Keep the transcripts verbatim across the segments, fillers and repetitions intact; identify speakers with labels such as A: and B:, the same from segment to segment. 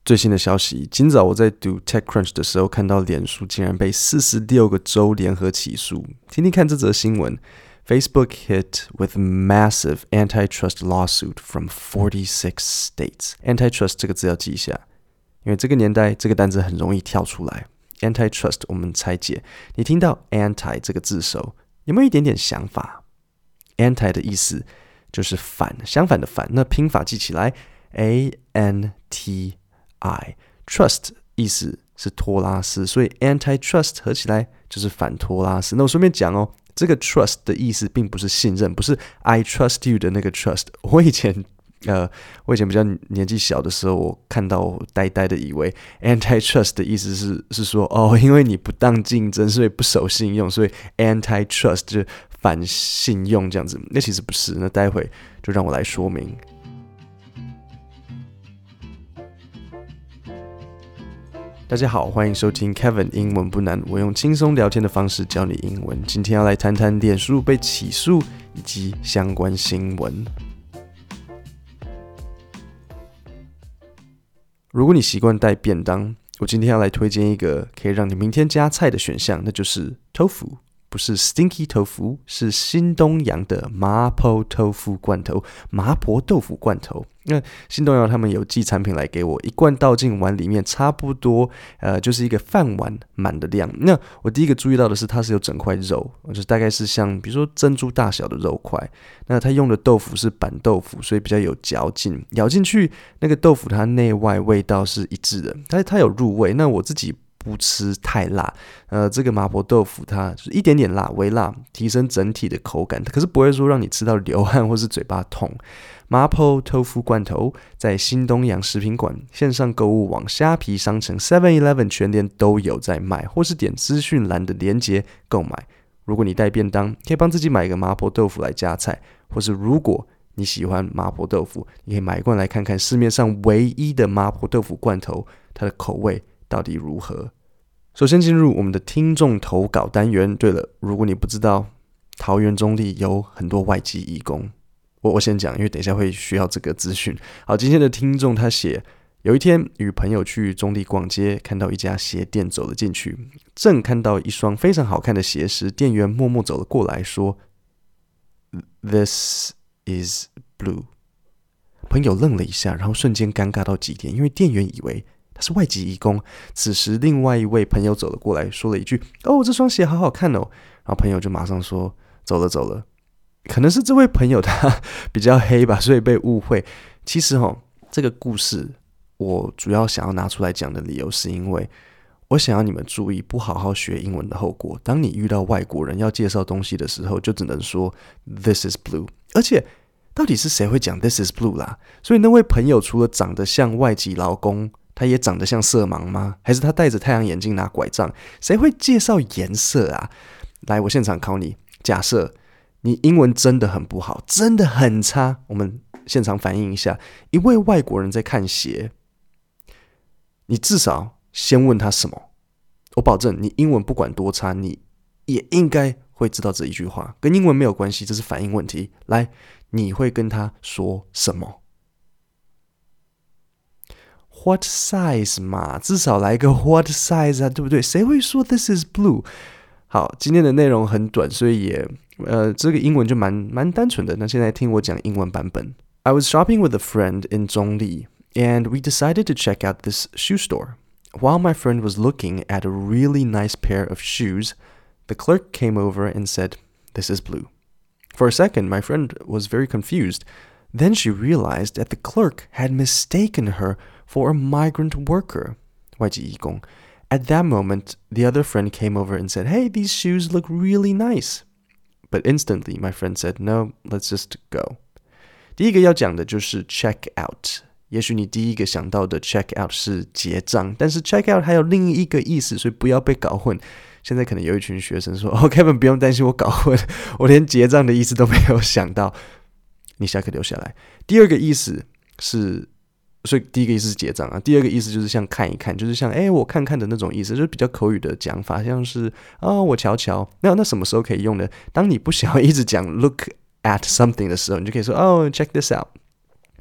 A: 最新的消息，今早我在读 TechCrunch 的时候，看到脸书竟然被四十六个州联合起诉。听听看这则新闻 ：Facebook hit with massive antitrust lawsuit from forty-six states. Antitrust 这个字要记一下，因为这个年代这个单字很容易跳出来。Antitrust 我们拆解，你听到 anti 这个字首，有没有一点点想法 ？Anti 的意思就是反，相反的反。那拼法记起来 ，A N T。I trust 意思是托拉斯，所以 antitrust 合起来就是反托拉斯。那我顺便讲哦，这个 trust 的意思并不是信任，不是 I trust you 的那个 trust。我以前呃，我以前比较年纪小的时候，我看到我呆呆的以为 antitrust 的意思是是说哦，因为你不当竞争，所以不守信用，所以 antitrust 就是反信用这样子。那其实不是，那待会就让我来说明。大家好，欢迎收听 Kevin 英文不难，我用轻松聊天的方式教你英文。今天要来谈谈脸书被起诉以及相关新闻。如果你习惯带便当，我今天要来推荐一个可以让你明天加菜的选项，那就是 tofu。不是 stinky tofu， 是新东阳的麻婆豆腐罐头，麻婆豆腐罐头。那新东阳他们有寄产品来给我，一罐倒进碗里面，差不多呃就是一个饭碗满的量。那我第一个注意到的是，它是有整块肉，就是大概是像比如说珍珠大小的肉块。那它用的豆腐是板豆腐，所以比较有嚼劲，咬进去那个豆腐它内外味道是一致的，它它有入味。那我自己不吃太辣，呃，这个麻婆豆腐它就是一点点辣，微辣，提升整体的口感，可是不会说让你吃到流汗或是嘴巴痛。麻婆豆腐罐头在新东阳食品馆、线上购物网、虾皮商城、seven eleven 全联都有在卖，或是点资讯栏的连结购买。如果你带便当，可以帮自己买一个麻婆豆腐来加菜，或是如果你喜欢麻婆豆腐，你可以买一罐来看看市面上唯一的麻婆豆腐罐头，它的口味到底如何。首先进入我们的听众投稿单元。对了，如果你不知道，桃园中立有很多外籍移工。我我先讲，因为等一下会需要这个资讯。好，今天的听众他写，有一天与朋友去中立逛街，看到一家鞋店，走了进去，正看到一双非常好看的鞋时，店员默默走了过来说 This is blue。 朋友愣了一下，然后瞬间尴尬到极点，因为店员以为他是外籍移工。此时另外一位朋友走了过来，说了一句哦，这双鞋好好看哦。然后朋友就马上说走了走了。可能是这位朋友他比较黑吧，所以被误会。其实齁，这个故事我主要想要拿出来讲的理由是因为我想要你们注意不好好学英文的后果。当你遇到外国人要介绍东西的时候，就只能说 This is blue。 而且到底是谁会讲 This is blue 啦？所以那位朋友除了长得像外籍劳工，他也长得像色盲吗？还是他戴着太阳眼镜拿拐杖？谁会介绍颜色啊？来，我现场考你。假设你英文真的很不好，真的很差，我们现场反映一下。一位外国人在看鞋，你至少先问他什么？我保证，你英文不管多差，你也应该会知道这一句话，跟英文没有关系，这是反应问题。来，你会跟他说什么？What size 嘛，至少来个 What size 啊，对不对？谁会说 This is blue？ 好，今天的内容很短，所以也呃，这个英文就蛮蛮单纯的。那现在听我讲英文版本。I was shopping with a friend in Zhongli, and we decided to check out this shoe store. While my friend was looking at a really nice pair of shoes, the clerk came over and said, This is blue. For a second, my friend was very confused.Then she realized that the clerk had mistaken her for a migrant worker, 外籍移工. At that moment, the other friend came over and said, Hey, these shoes look really nice. But instantly, my friend said, No, let's just go. 第一个要讲的就是 check out. 也许你第一个想到的 check out 是结账，但是 check out 还有另一个意思，所以不要被搞混。现在可能有一群学生说，哦 Kevin 不用担心我搞混，我连结账的意思都没有想到。你下课留下来。第二个意思是，所以第一个意思是结账啊，第二个意思就是像看一看，就是像哎我看看的那种意思，就是比较口语的讲法，像是啊、哦、我瞧瞧。那那什么时候可以用呢？当你不想要一直讲 look at something 的时候，你就可以说哦 check this out。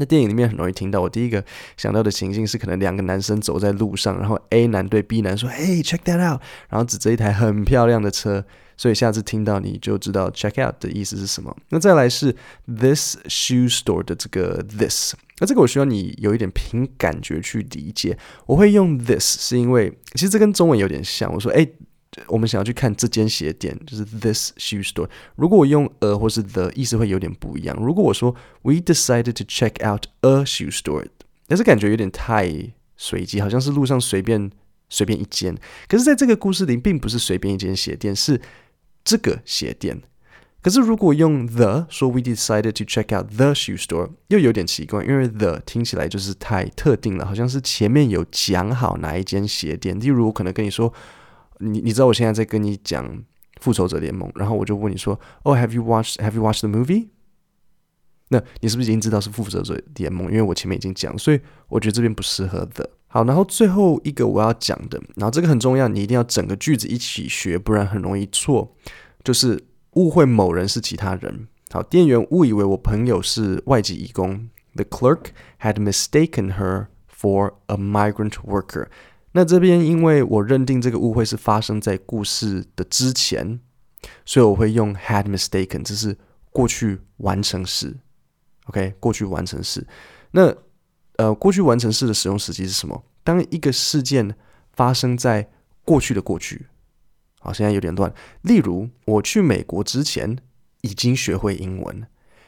A: 那电影里面很容易听到，我第一个想到的情境是可能两个男生走在路上，然后 A 男对 B 男说 Hey check that out， 然后指着一台很漂亮的车，所以下次听到你就知道 check out 的意思是什么。那再来是 this shoe store 的这个 this， 那这个我需要你有一点凭感觉去理解。我会用 this 是因为其实这跟中文有点像，我说哎，我们想要去看这间鞋店，就是 this shoe store。如果我用 a 或是 the， 意思会有点不一样。如果我说 we decided to check out a shoe store， 但是感觉有点太随机，好像是路上随便随便一间。可是在这个故事里，并不是随便一间鞋店，是这个鞋店。可是如果用 the 说 we decided to check out the shoe store， 又有点奇怪，因为 the 听起来就是太特定了，好像是前面有讲好哪一间鞋店。例如我可能跟你说，你你知道我现在在跟你讲复仇者联盟，然后我就问你说 Oh have you watched have you watched the movie？ 那你是不是已经知道是复仇者联盟？因为我前面已经讲，所以我觉得这边不适合 the。 好，然后最后一个我要讲的，然后这个很重要，你一定要整个句子一起学，不然很容易错，就是误会某人是其他人。好，店员误以为我朋友是外籍移工， The clerk had mistaken her for a migrant worker。那这边因为我认定这个误会是发生在故事的之前，所以我会用 had mistaken， 这是过去完成式。 OK， 过去完成式。那呃，过去完成式的使用时机是什么？当一个事件发生在过去的过去。好，现在有点乱。例如我去美国之前已经学会英文，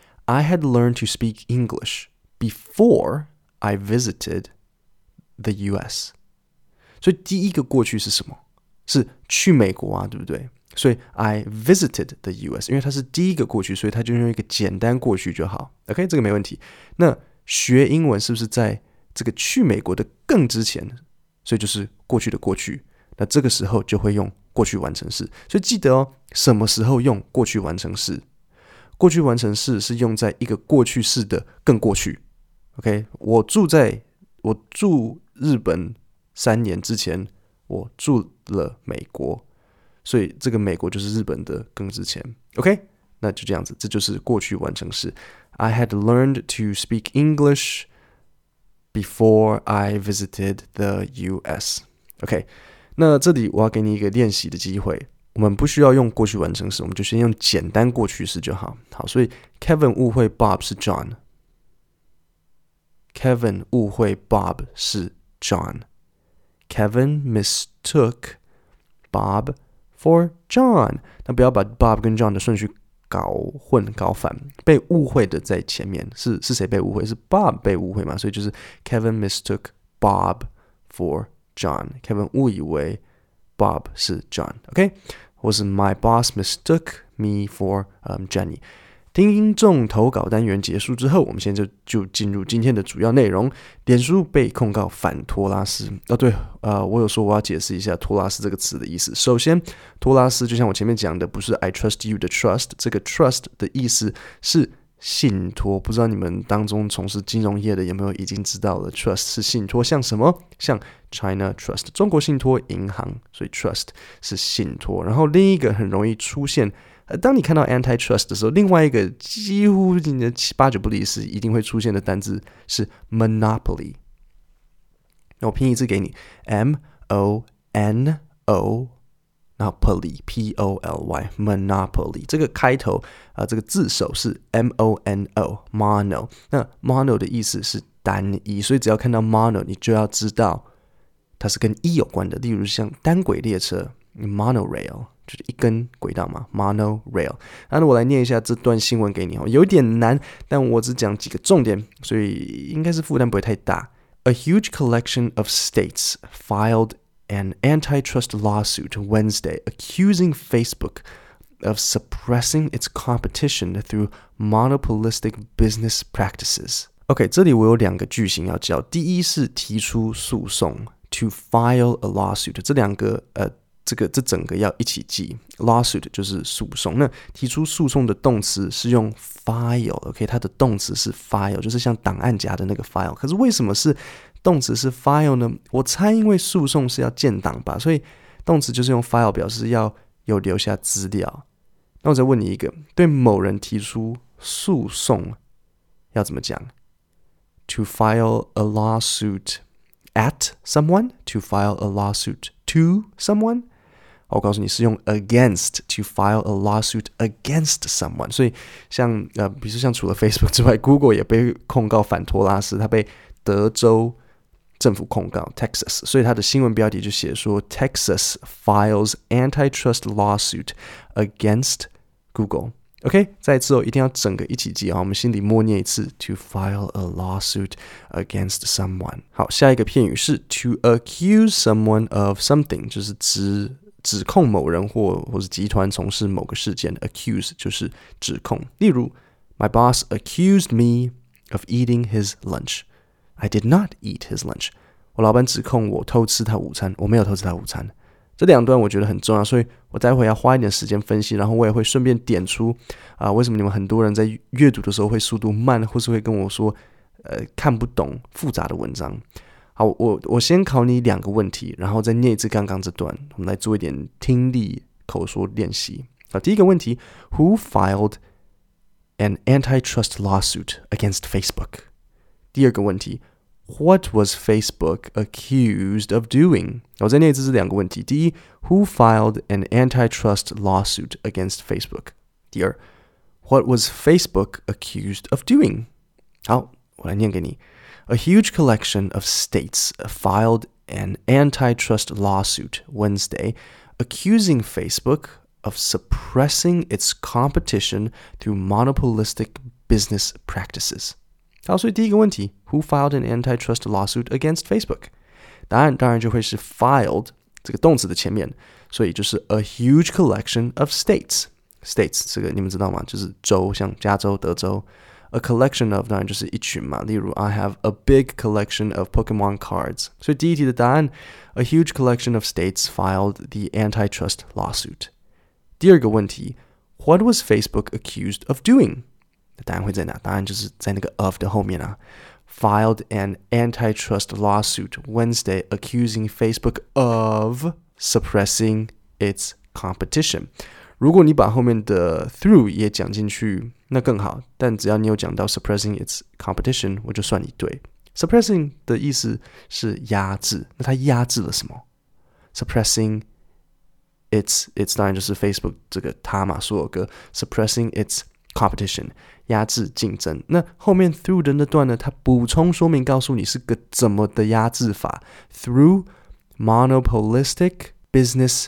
A: I had learned to speak English before I visited the U S。所以第一个过去是什么？是去美国啊，对不对？所以 I visited the U S， 因为它是第一个过去，所以它就用一个简单过去就好。 OK， 这个没问题。那学英文是不是在这个去美国的更之前？所以就是过去的过去，那这个时候就会用过去完成式。所以记得哦，什么时候用过去完成式？过去完成式是用在一个过去式的更过去。 OK， 我住在我住日本三年之前，我住了美国，所以这个美国就是日本的更之前。 OK， 那就这样子，这就是过去完成式。 I had learned to speak English before I visited the U S。 OK， 那这里我要给你一个练习的机会，我们不需要用过去完成式，我们就先用简单过去式就好。好，所以 Kevin 误会 Bob 是 John， Kevin 误会 Bob 是 John， Kevin mistook Bob for John。 那不要把 Bob 跟 John 的顺序搞混搞反，被误会的在前面，是是谁被误会？是 Bob 被误会嘛？所以就是 Kevin mistook Bob for John， Kevin 误以为 Bob 是 John。 OK， 或是 My boss mistook me for、um, Jenny。听众投稿单元结束之后，我们现在就就进入今天的主要内容。脸书被控告反托拉斯。哦，对，呃，我有说我要解释一下托拉斯这个词的意思。首先，托拉斯就像我前面讲的，不是 I trust you 的 trust， 这个 trust 的意思是信托。不知道你们当中从事金融业的有没有已经知道了 trust 是信托，像什么？像 China Trust 中国信托银行，所以 trust 是信托。然后另一个很容易出现，呃，当你看到 antitrust 的时候，另外一个几乎你的八九不离十一定会出现的单字是 monopoly。那我拼一次给你 M O N O， 然后 poly P O L Y monopoly。这个开头啊、呃，这个字首是 M O N O mono。那 mono 的意思是单一，所以只要看到 mono， 你就要知道它是跟一有关的。例如像单轨列车 monorail。就是一根轨道嘛 ，monorail。那我来念一下这段新闻给你哦，有点难，但我只讲几个重点，所以应该是负担不会太大。A huge collection of states filed an antitrust lawsuit Wednesday accusing Facebook of suppressing its competition through monopolistic business practices. OK， 这里我有两个句型要教，第一是提出诉讼 ，to file a lawsuit， 这两个呃。这个这整个要一起记 ，lawsuit 就是诉讼。那提出诉讼的动词是用 file，OK， 它的动词是 file， 就是像档案夹的那个 file。可是为什么是动词是 file 呢？我猜因为诉讼是要建档吧，所以动词就是用 file 表示要有留下资料。那我再问你一个，对某人提出诉讼要怎么讲？ to file a lawsuit at someone, to file a lawsuit to someone。我告诉你是用 against to file a lawsuit against someone， 所以像呃，比如说像除了 Facebook 之外 ，Google 也被控告反托拉斯，他被德州政府控告 Texas， 所以他的新闻标题就写说 Texas files antitrust lawsuit against Google。OK， 再一次哦，一定要整个一起记啊，我们心里默念一次 to file a lawsuit against someone。好，下一个片语是 to accuse someone of something， 就是指指控某人或或是集团从事某个事件 ，accuse 就是指控。例如 ，My boss accused me of eating his lunch. I did not eat his lunch. 我老板指控我偷吃他午餐，我没有偷吃他午餐。这两段我觉得很重要，所以我待会要花一点时间分析，然后我也会顺便点出啊、呃，为什么你们很多人在阅读的时候会速度慢，或是会跟我说，呃，看不懂复杂的文章。好，我我先考你两个问题，然后再念一次刚刚这段，我们来做一点听力口说练习。好，第一个问题 ，Who filed an antitrust lawsuit against Facebook？ 第二个问题 ，What was Facebook accused of doing？ 我再念一次这两个问题。第一 ，Who filed an antitrust lawsuit against Facebook？ 第二 ，What was Facebook accused of doing？ 好，我来念给你。A huge collection of states filed an antitrust lawsuit Wednesday accusing Facebook of suppressing its competition through monopolistic business practices. 好，所以第一个问题 Who filed an antitrust lawsuit against Facebook? 答案当然就会是 filed 这个动词的前面，所以就是 a huge collection of states. States 这个你们知道吗？就是州，像加州、德州。A collection of 当然就是一群嘛，例如 I have a big collection of Pokemon cards。所以第一题的答案 A huge collection of states filed the antitrust lawsuit。第二个问题 What was Facebook accused of doing？ 答案会在哪？答案就是在那个 of 的后面啊。Filed an antitrust lawsuit Wednesday accusing Facebook of suppressing its competition。如果你把后面的 through 也讲进去，那更好。但只要你有讲到 suppressing its competition， 我就算你对。suppressing 的意思是压制，那它压制了什么 ？suppressing its its 当然就是 Facebook 这个它嘛，所有歌 suppressing its competition 压制竞争。那后面 through 的那段呢，它补充说明告诉你是个怎么的压制法 through monopolistic business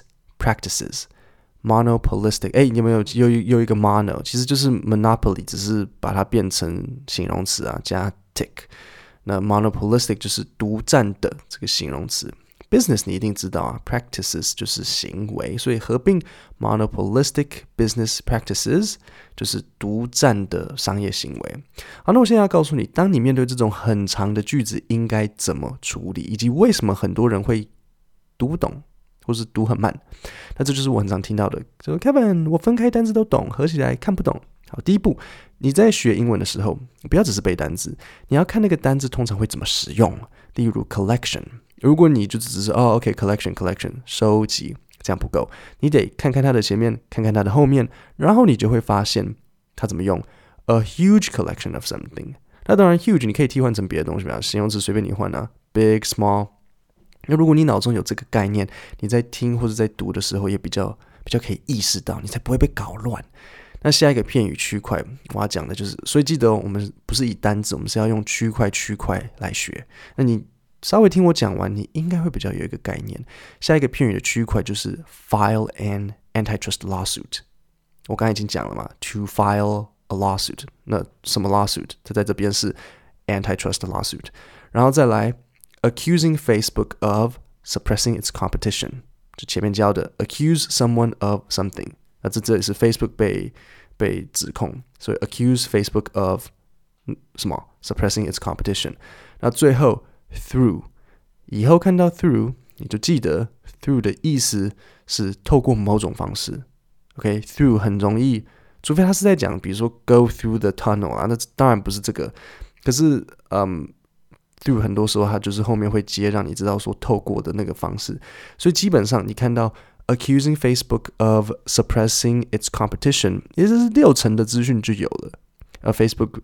A: practices。monopolistic， 哎，你有没有又又一个 mono， 其实就是 monopoly， 只是把它变成形容词啊，加 tick。那 monopolistic 就是独占的这个形容词。business 你一定知道啊 ，practices 就是行为，所以合并 monopolistic business practices 就是独占的商业行为。好，那我现在要告诉你，当你面对这种很长的句子，应该怎么处理，以及为什么很多人会读不懂。或是读很慢，那这就是我很常听到的，说 Kevin， 我分开单字都懂，合起来看不懂。好，第一步，你在学英文的时候，不要只是背单字，你要看那个单字通常会怎么使用。例如 collection， 如果你就只是哦 ，OK collection collection 收集，这样不够，你得看看它的前面，看看它的后面，然后你就会发现它怎么用 a huge collection of something。那当然 huge 你可以替换成别的东西，形容词随便你换啊 ，big small。那如果你脑中有这个概念，你在听或者在读的时候也比较比较可以意识到，你才不会被搞乱。那下一个片语区块，我要讲的就是，所以记得、哦、我们不是以单字，我们是要用区块区块来学。那你稍微听我讲完，你应该会比较有一个概念。下一个片语的区块就是 file an antitrust lawsuit。我刚才已经讲了嘛 ，to file a lawsuit。那什么 lawsuit？ 它在这边是 antitrust lawsuit， 然后再来。Accusing Facebook of suppressing its competition， 就前面教的 accuse someone of something， 那这这里是 Facebook 被被指控，所以 accuse Facebook of 什么 suppressing its competition。那最后 through， 以后看到 through 你就记得 through 的意思是透过某种方式。OK， through 很容易，除非他是在讲，比如说 go through the tunnel 啊，那当然不是这个，可是嗯。through 很多时候它就是后面会接让你知道说透过的那个方式，所以基本上你看到 accusing Facebook of suppressing its competition， 也就是六成的资讯就有了。而 Facebook 呃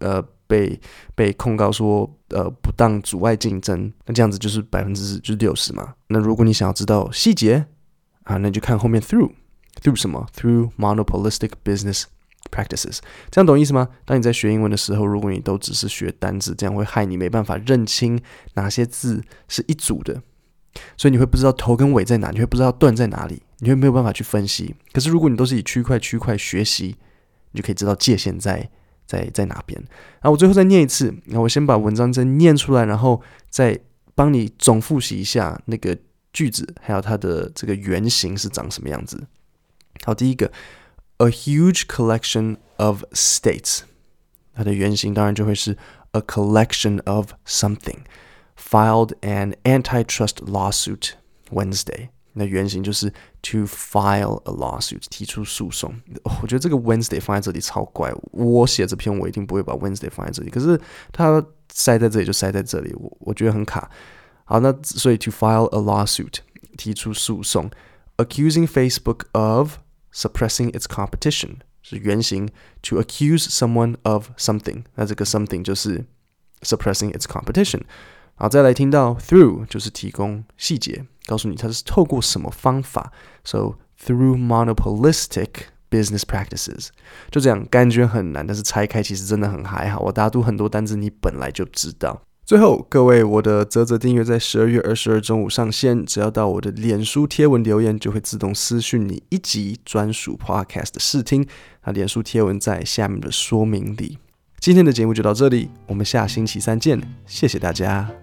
A: 被被控告说呃不当阻碍竞争，那这样子就是百分之就是六十嘛。那如果你想要知道细节啊，那你就看后面 through through 什么 through monopolistic business practices， 这样懂意思吗？当你在学英文的时候，如果你都只是学单字，这样会害你没办法认清哪些字是一组的，所以你会不知道头跟尾在哪，你会不知道段在哪里，你会没有办法去分析。可是如果你都是以区块区块学习，你就可以知道界限在在在哪边。然后我最后再念一次，然后我先把文章真念出来，然后再帮你总复习一下那个句子，还有它的这个原型是长什么样子。好，第一个 ，a huge collection of states， 它的原型当然就会是 a collection of something filed an antitrust lawsuit Wednesday。那原型就是 to file a lawsuit， 提出诉讼。哦，我觉得这个 Wednesday 放在这里超怪，我写这篇我一定不会把 Wednesday 放在这里，可是它塞在这里就塞在这里，我我觉得很卡。好，那所以 to file a lawsuit， 提出诉讼 ，accusing Facebook of suppressing its competition 是原型 to accuse someone of something， 那这个 something 就是 suppressing its competition。好，再来听到 through 就是提供细节，告诉你它是透过什么方法。So through monopolistic business practices， 就这样，感觉很难，但是拆开其实真的很还好。我大家读很多单字，你本来就知道。最后，各位，我的嘖嘖订阅在十二月二十二中午上线，只要到我的脸书贴文留言，就会自动私讯你一集专属 podcast 的试听。那脸书贴文在下面的说明里。今天的节目就到这里，我们下星期三见，谢谢大家。